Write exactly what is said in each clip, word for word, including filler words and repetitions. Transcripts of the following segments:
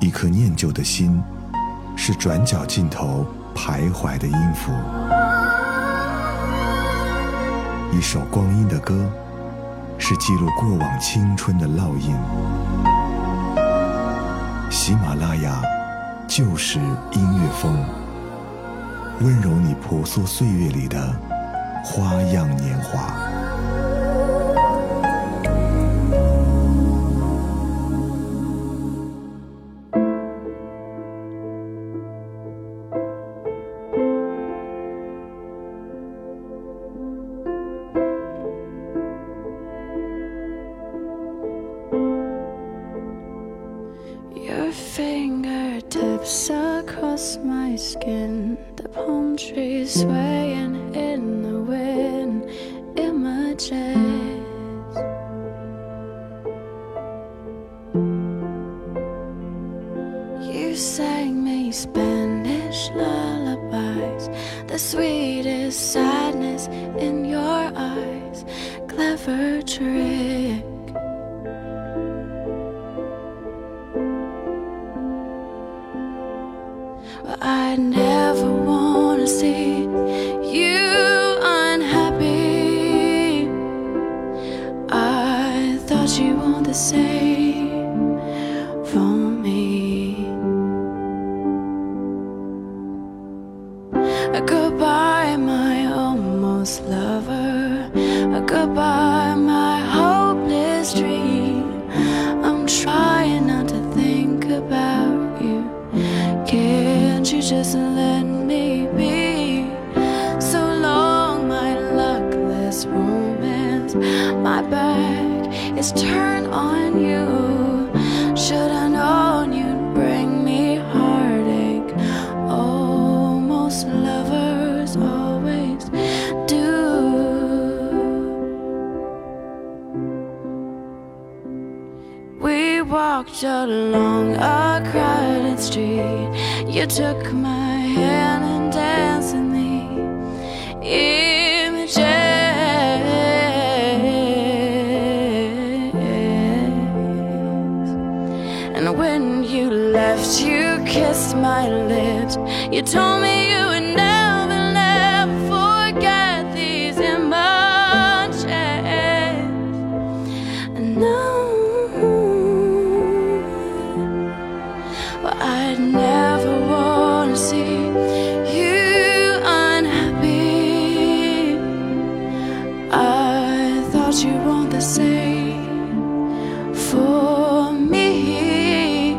一颗念旧的心，是转角尽头徘徊的音符。一首光阴的歌，是记录过往青春的烙印。喜马拉雅就是音乐风，温柔你婆娑岁月里的花样年华。 Fingertips across my skin, the palm trees swaying in the wind, images. You sang me Spanish lullabies, the sweetest sadness in your eyes, clever trick. I never wanna see you unhappy. I thought you want the same for me. Goodbye, my almost lover. Goodbye, my hopeless dream. I'm trying not to think about you. Can't you just let me be? So long, my luckless romance. My back is turned on you. Should I known you'd bring me heartache? Oh, most lovers always do. We walked along a crowded street. You took my hand and danced in the images. And when you left, you kissed my lips. You told me you would never, never forget these images. And now I'd never wanna see you unhappy. I thought you want the same for me.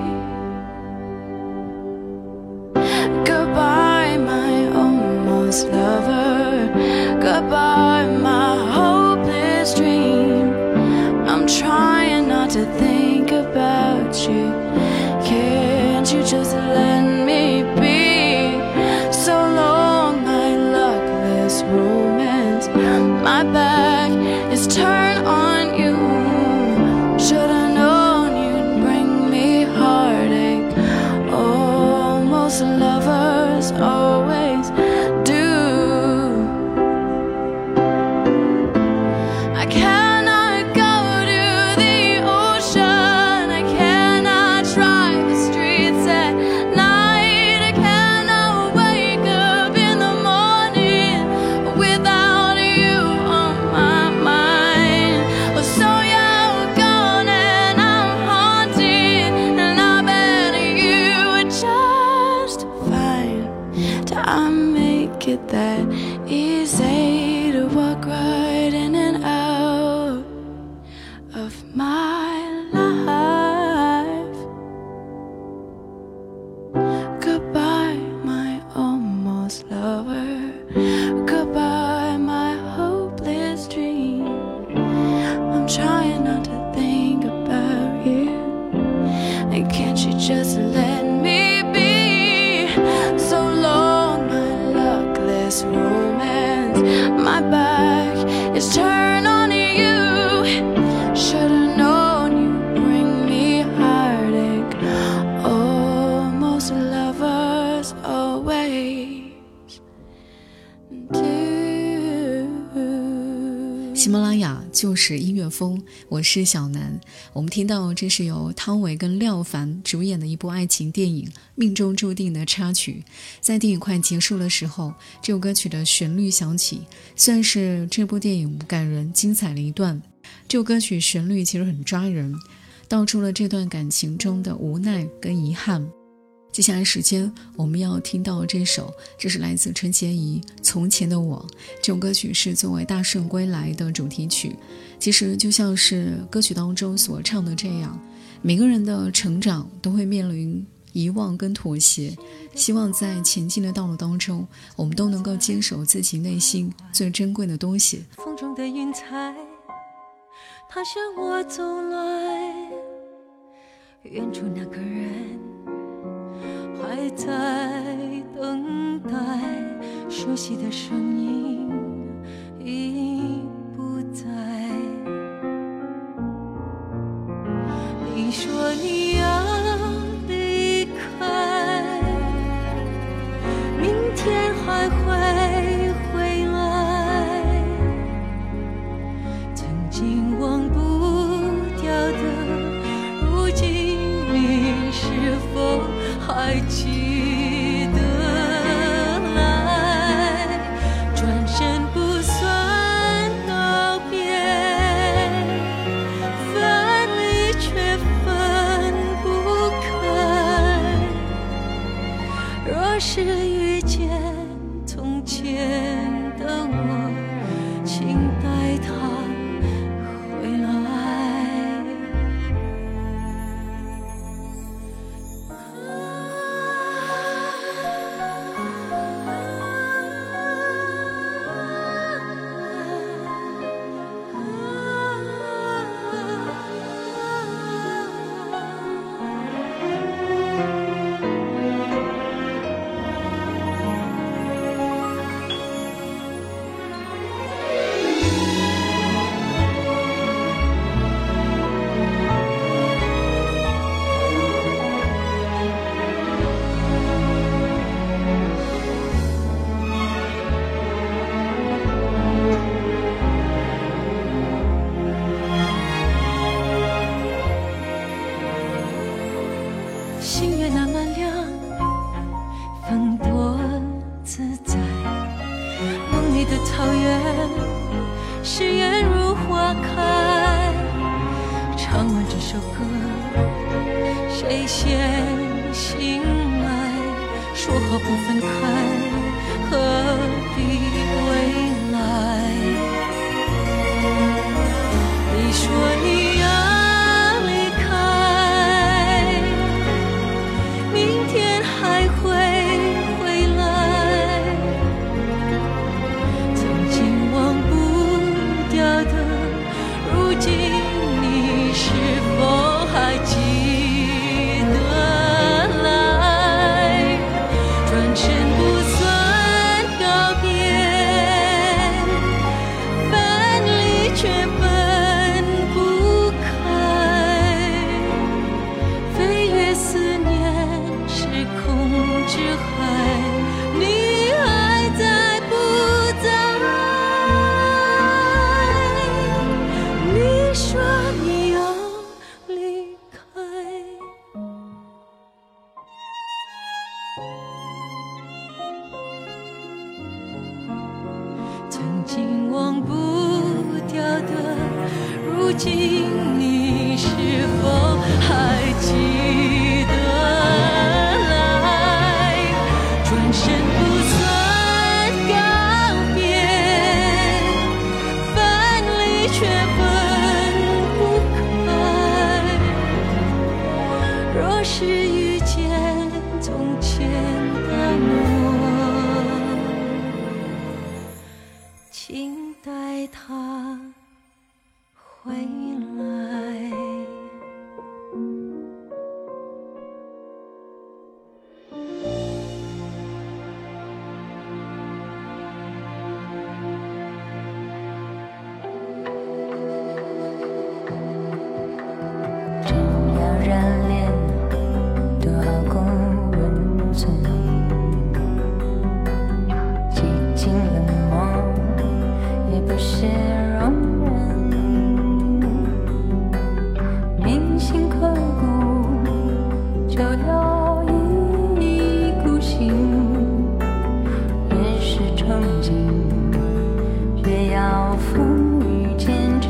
Goodbye, my almost lover. Goodbye, my hopeless dream. I'm trying not to think about you. Can't you just let me be? So long, my luckless romance. My back is turned on you. Should I known you'd bring me heartache? Oh, most lovers always do. I cannot go to the ocean. I cannot drive the streets at night. I cannot wake up in the morning without you on my mind. So you're gone and I'm haunted, and I bet you would just fine. Do I make it that easy to walk right in and out of my life? Goodbye, my almost lover. Goodbye, my hopeless dream. I'm trying not to think about you. And can't you just let me be? So long, my luckless romance. My back is turned on you. Should've known you'd bring me heartache. Oh, most lovers always do. 喜马拉雅就就是音乐风，我是小南。我们听到这是由汤唯跟廖凡主演的一部爱情电影《命中注定》的插曲。在电影快结束的时候，这首歌曲的旋律响起，算是这部电影感人精彩的一段。这首歌曲旋律其实很抓人，道出了这段感情中的无奈跟遗憾。接下来时间我们要听到这首，这是来自陈洁仪《从前的我》。这首歌曲是作为《大圣归来》的主题曲，其实就像是歌曲当中所唱的这样，每个人的成长都会面临遗忘跟妥协，希望在前进的道路当中，我们都能够坚守自己内心最珍贵的东西。 风中的云彩它向我走来，远处那个人还在等待，熟悉的声音已不在。你说你要离开，明天还会回来，曾经忘不掉的，如今你是否还记得来？转身不算告别，分离却分不开。若是遇见从前的我，请带他回来。星月那么亮，风多自在，梦里的草原誓言如花开。唱完这首歌，谁先醒来？说好不分开，何必未来？你说你要曾经忘不掉的，如今你是否还记得来？转身不算告别，分离却分不开。若是遇见从前的我，请带他回来。 这两人脸都就要一意孤行，越是憧憬，越要风雨兼程。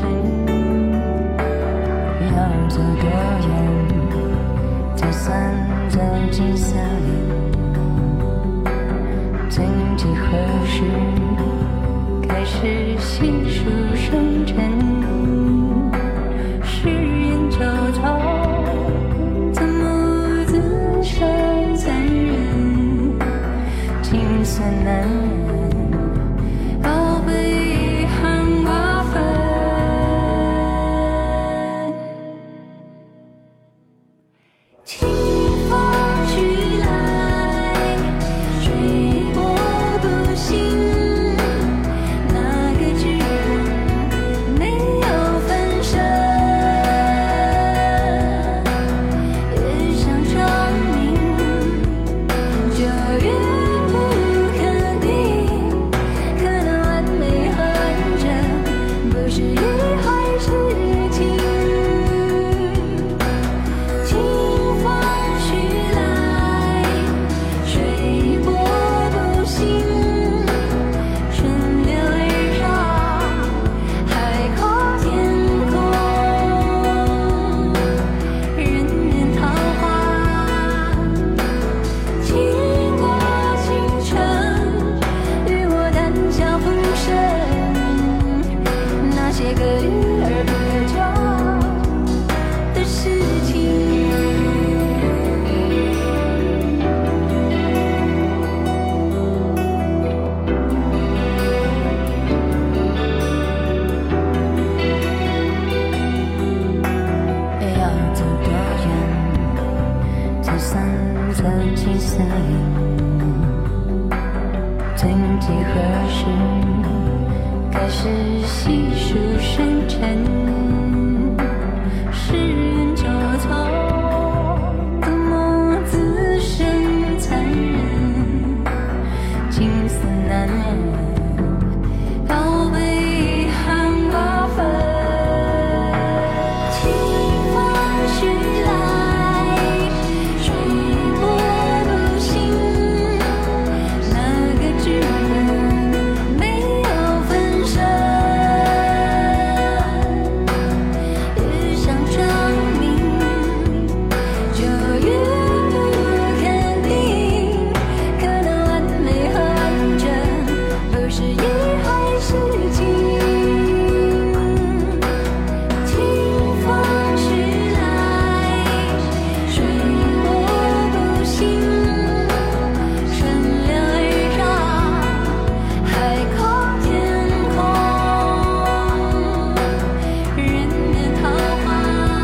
要走多远，才算走进森林？曾几何时，开始细数生辰，世人周遭，怎么自伤残忍？情色难忍，要被遗憾瓜分。清风徐来，水波不兴。曾几何时，开始细数生辰，世人周遭，怎么自生残忍？情丝难忍，要被遗憾瓜分。清风徐来，水波不兴。那个剧本没有分身，越想证明，就越不肯定。可能完美和完整，不是一回事情。清风徐来，水波不兴。春凉而上，海阔天空，人面桃花，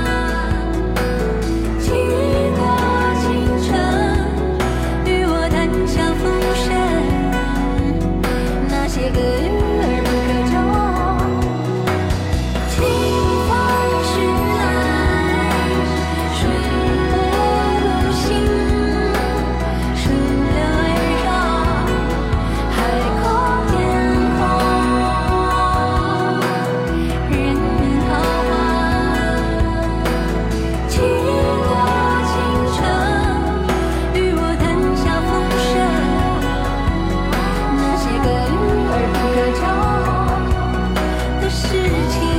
去过倾城，与我谈笑风生，那些个遇而不可求。清风徐来，水波不兴。春凉而上，海阔天空，人面桃花，去过倾城，与我谈笑风生，那些个遇而不可求的事情。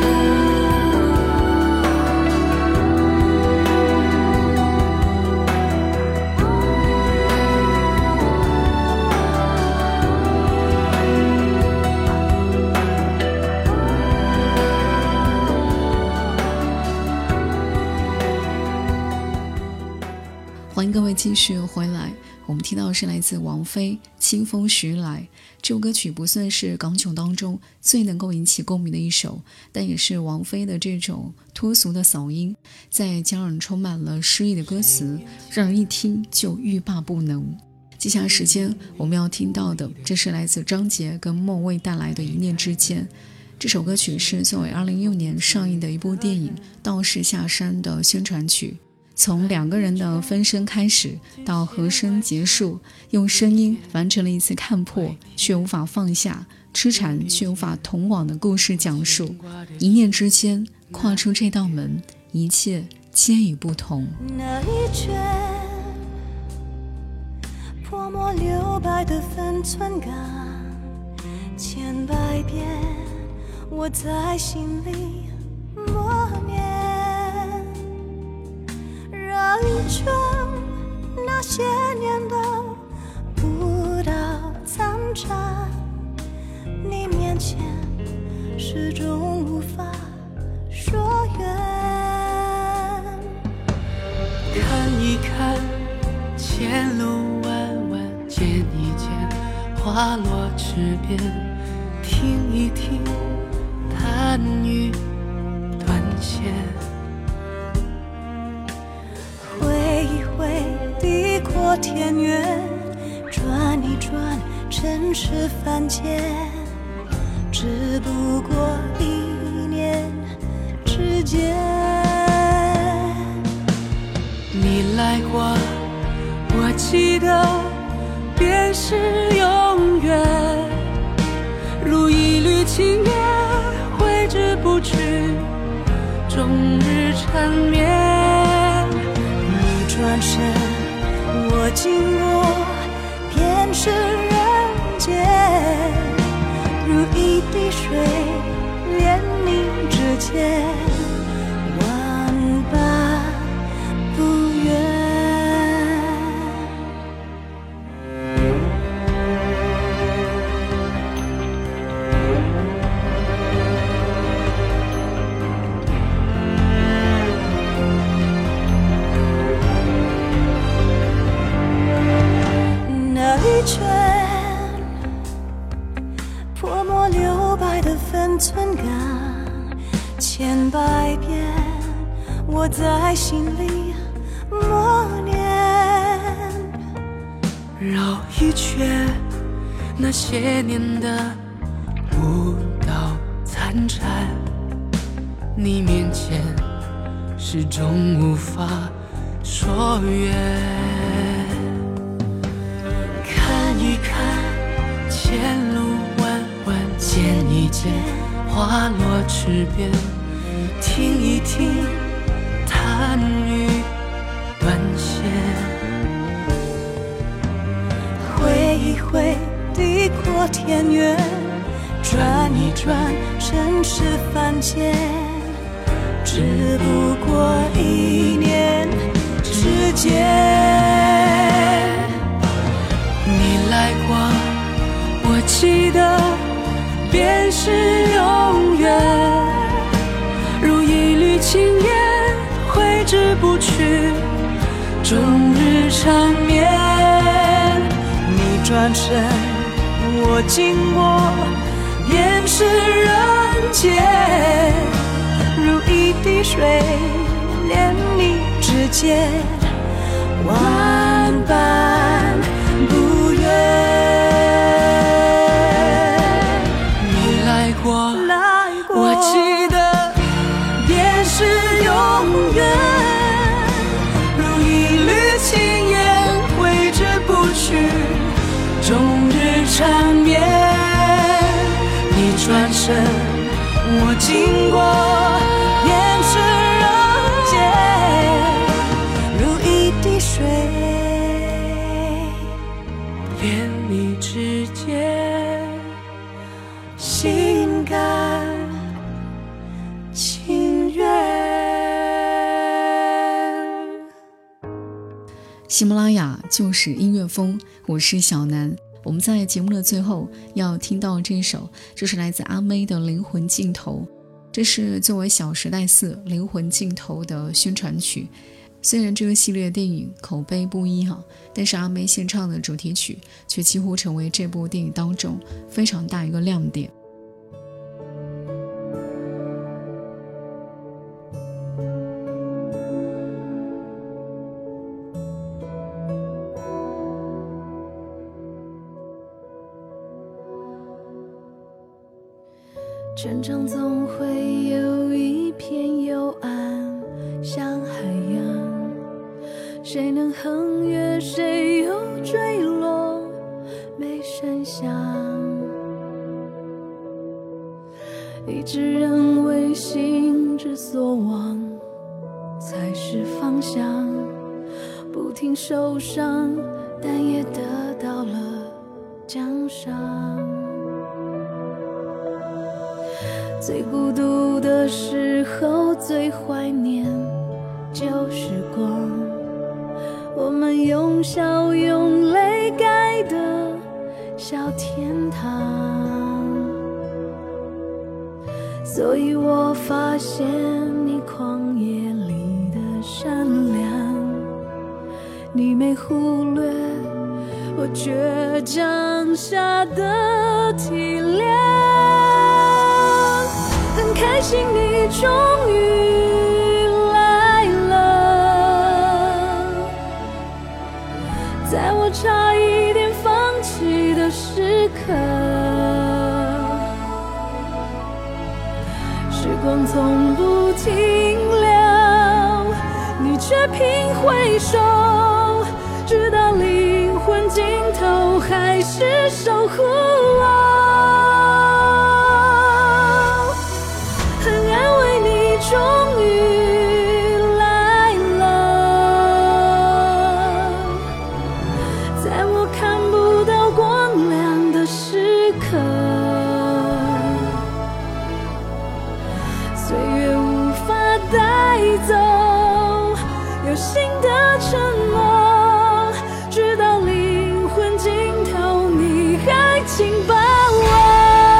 欢迎各位继续回来。我们听到的是来自王菲《清风徐来》，这首歌曲不算是港囧当中最能够引起共鸣的一首，但也是王菲的这种脱俗的嗓音，再加上充满了诗意的歌词，让人一听就欲罢不能。接下来时间我们要听到的，这是来自张杰跟莫蔚带来的《一念之间》。这首歌曲是作为二零一六年上映的一部电影《道士下山》的宣传曲。从两个人的分身开始，到和声结束，用声音完成了一次看破却无法放下，痴缠却无法同往的故事讲述。一念之间，跨出这道门，一切皆已不同。 那一卷泼墨留白的分寸感，千百遍我在心里默念，绕一圈那些年的舞蹈残渣，你面前始终无法说远。 看一看前路弯弯，见一见花落池边，听一听弹雨断线， 挥一挥地阔天远，转一转尘世凡间，只不过一念之间。 你来过，我记得便是永远，如一缕青烟挥之不去，终日缠绵。 你转身，我经过，便是人间，如一滴水连你指尖，万般不愿。那一圈泼墨留白的分寸感，千百遍我在心里默念， 绕一圈那些年的舞蹈残蝉，你面前始终无法说远。看一看前路弯弯，见一见花落池边，听一听弹雨断线， 挥一挥地阔天远，转一转尘世凡间，只不过一念之间。 你来过，我记得便是永远，如一缕青烟挥之不去，终日缠绵。 你转身，我经过，便是人间，如一滴水连你指尖，万般不愿。 你来过， 来过， 我记得便是永远，如一缕青烟挥之不去，终日缠绵。你转身，我经过， 便是人间，如一滴水连你指尖， 心甘情愿。 喜马拉雅就是音乐风，我是小南。我们在节目的最后要听到这首，就是来自阿妹的《灵魂尽头》，这是作为《小时代四》《灵魂尽头》的宣传曲。虽然这个系列电影口碑不一哈，但是阿妹献唱的主题曲却几乎成为这部电影当中非常大一个亮点。 全场总会有一片幽暗，像海洋，谁能横越，谁又坠落，没声响。一直认为心之所往， 才是方向。不停受伤，但也得到了奖赏。最孤独的时候，最怀念旧时光，我们用笑用泪盖的小天堂。所以我发现你旷野里的善良，你没忽略我倔强下的体谅。很开心你终于来了，在我差一点放弃的时刻，时光从不停留，你却频回首，直到灵魂尽头还是守护我。很安慰你终于来了，在我看不到光亮的时刻，岁月无法带走有新的承诺，直到灵魂尽头你还紧把我。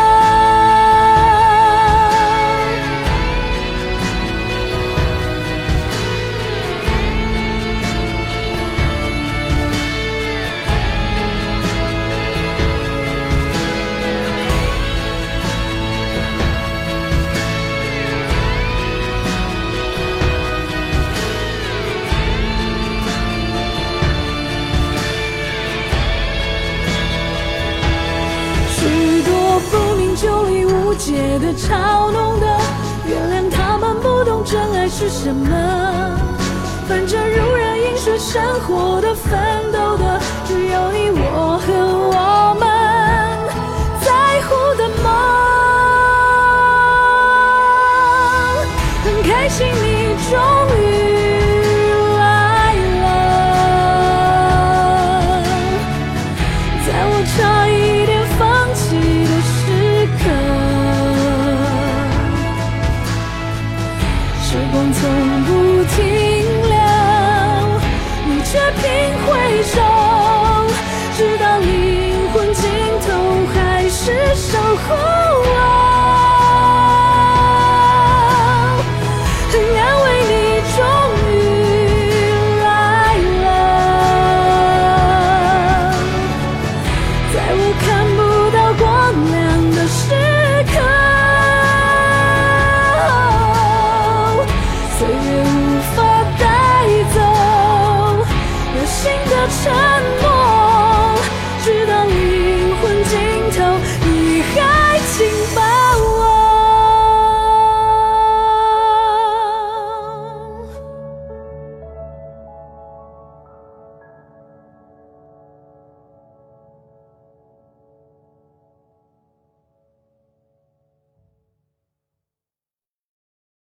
就理无解的嘲弄的，原谅他们不懂真爱是什么。反正如人饮水，生活的奋斗的，只有你我和我们在乎的梦。很开心你终于来了，在我差一点放弃的时刻，时光从不停留，你却频回首，直到灵魂尽头还是守护我。很安慰你终于来了，在我看不到光亮的时刻，岁月无法带走有新的承诺。